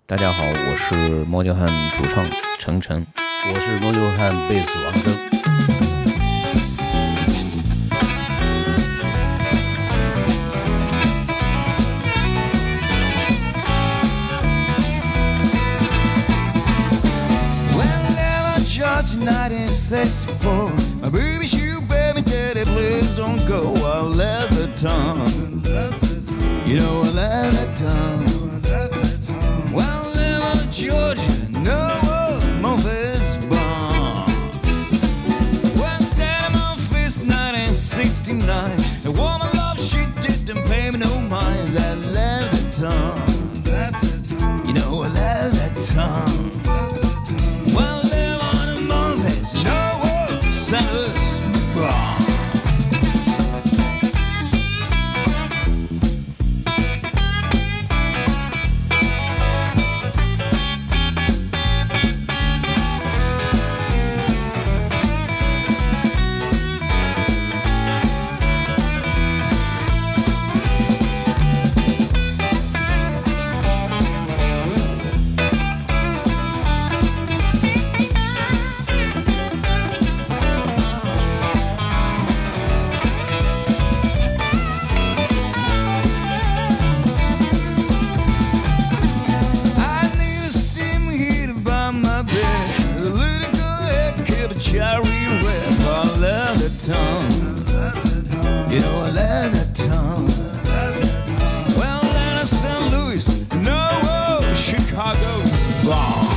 大家好，我是猫叫汉主唱程晨， 我是猫叫汉贝斯王铮。 1964, my baby shoe baby daddy, please don't go. I love the tongue, you know I love that tongue. Well, I live in Georgia, no Memphis bomb. Well, instead of Memphis, 1969, the woman love she didn't pay me no mind. I love the tongue, you know I love that tongue. You know I love that tongue. Well, then it's St. Louis, no Chicago. Wow.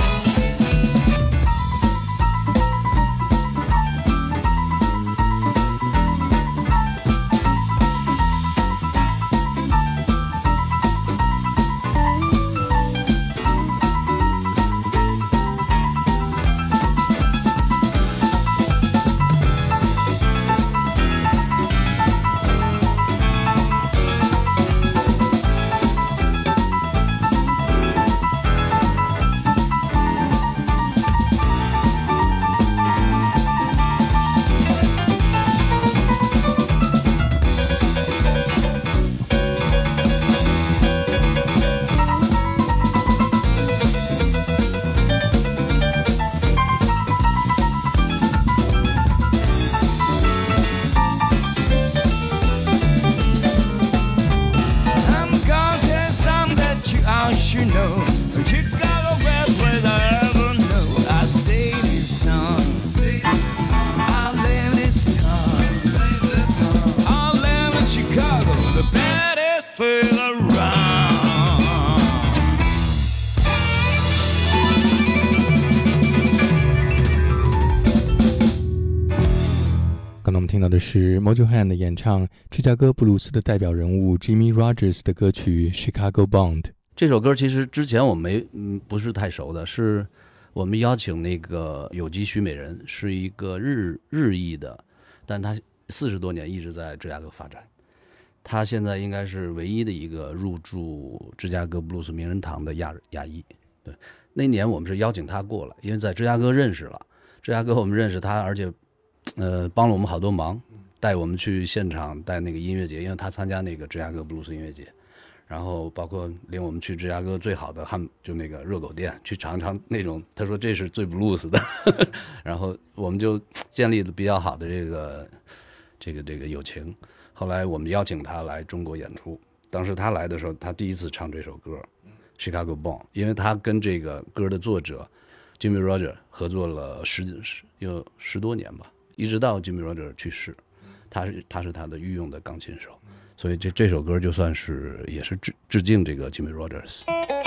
刚才我们听到的是 Mojo Hand 演唱芝加哥布鲁斯的代表人物 Jimmy Rogers 的歌曲 Chicago Bound。 这首歌其实之前我不是太熟的，是我们邀请那个有机许美人，是一个日裔的，但他40多年一直在芝加哥发展，他现在应该是唯一的一个入驻芝加哥布鲁斯名人堂的亚裔。对，那年我们是邀请他过来，因为在芝加哥认识了，芝加哥我们认识他，而且帮了我们好多忙，带我们去现场带那个音乐节，因为他参加那个芝加哥布鲁斯音乐节，然后包括领我们去芝加哥最好的就那个热狗店去尝尝那种，他说这是最布鲁斯的然后我们就建立了比较好的这个友情。后来我们邀请他来中国演出，当时他来的时候，他第一次唱这首歌 Chicago Bound， 因为他跟这个歌的作者 Jimmy Rogers 合作了有10多年吧，一直到 Jimmy Rogers 去世，他是他的御用的钢琴手，所以这首歌就算是也是致敬这个 Jimmy Rogers。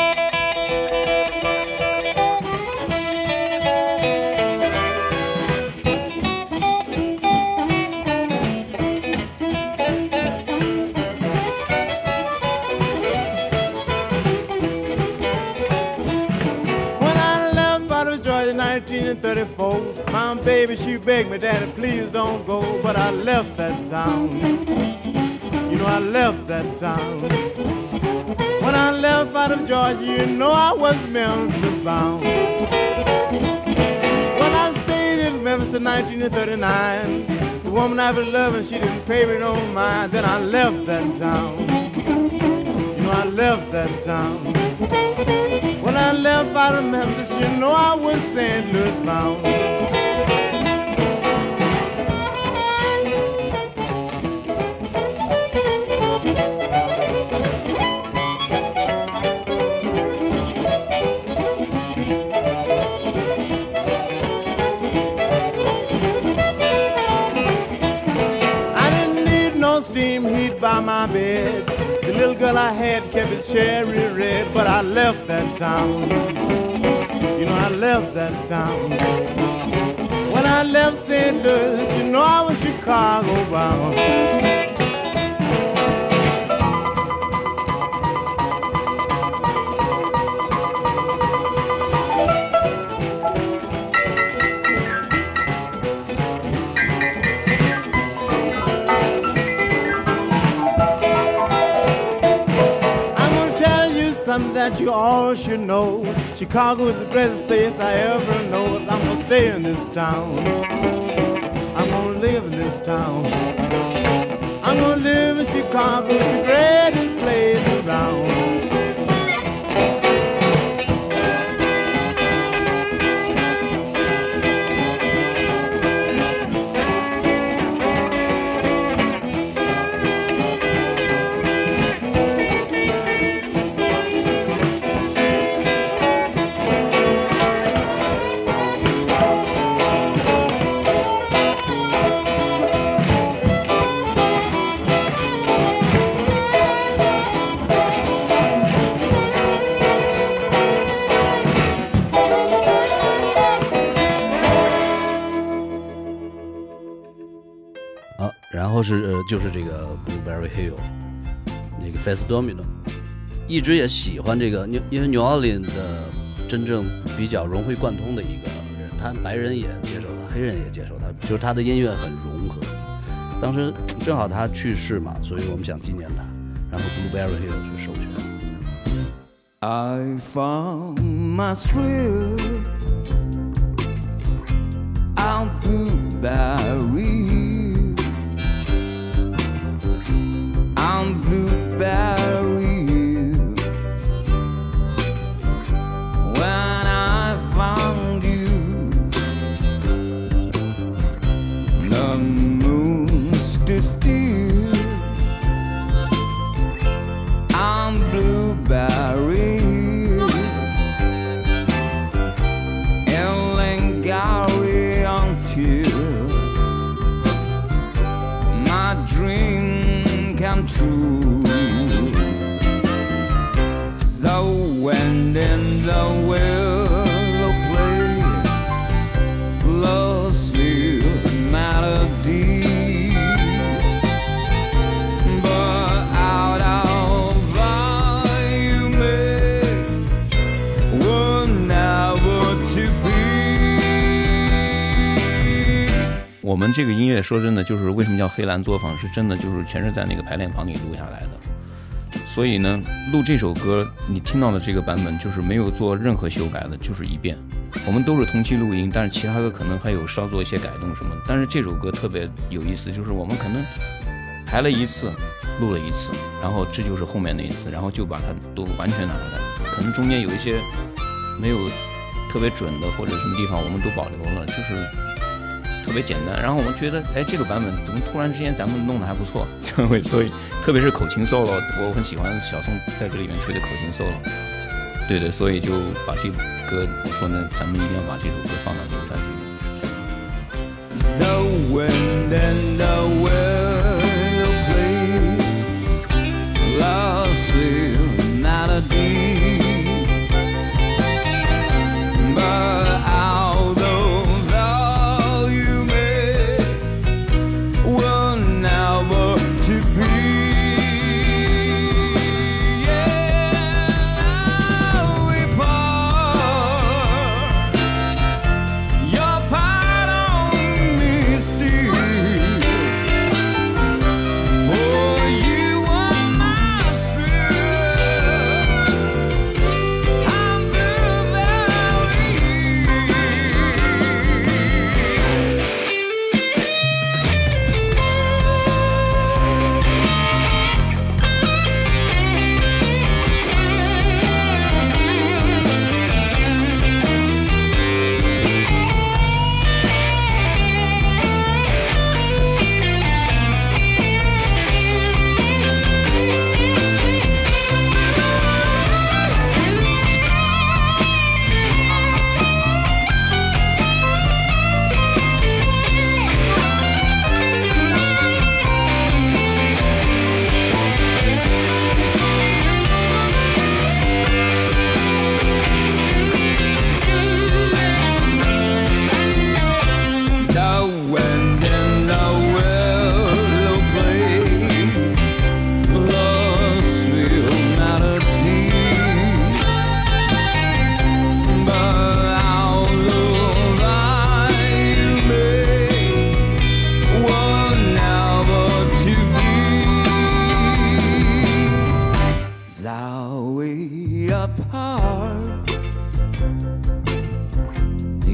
1934, my baby, she begged me, Daddy, please don't go. But I left that town. You know I left that town. When I left out of Georgia, you know I was Memphis bound. When I stayed in Memphis in 1939, the woman I was loving, she didn't pay me no mind. Then I left that town. You know I left that town. out of Memphis, you know I was St. Louis bound. Steam heat by my bed. The little girl I had kept it cherry red, but I left that town. You know I left that town. When I left St. Louis, you know I was Chicago bound. Something that you all should know. Chicago is the greatest place I ever know. I'm gonna stay in this town. I'm gonna live in this town. I'm gonna live in Chicago. It's the greatest place around. 然后就是这个 Blueberry Hill 那个 Fats Domino， 一直也喜欢这个，因为 New Orleans 的真正比较融会贯通的一个人，他白人也接受他，黑人也接受他，就是他的音乐很融合。当时正好他去世嘛，所以我们想纪念他，然后 Blueberry Hill 是授权。 I found my thrill on Blueberry.On Blueberry when I found you, the moon stood still on Blueberry and Langary until my dream come true. So when in the willow play lost you melody, but out of you made were never to be. 我们这个音乐说真的，就是为什么叫黑蓝作坊，是真的就是全是在那个排练房里录下来的。所以呢，录这首歌你听到的这个版本就是没有做任何修改的，就是一遍。我们都是同期录音，但是其他的可能还有稍做一些改动什么的。但是这首歌特别有意思，就是我们可能排了一次，录了一次，然后这就是后面那一次，然后就把它都完全拿出来。可能中间有一些没有特别准的或者什么地方我们都保留了，就是特别简单。然后我们觉得，哎，这个版本怎么突然之间咱们弄得还不错，所以特别是口琴 solo， 我很喜欢小宋在这里面吹的口琴 solo。对对，所以就把这个歌，我说呢，咱们一定要把这首歌放到留下去。 So when then the will play lost with melody, but out of all you made will never to be.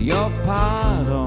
your pardon.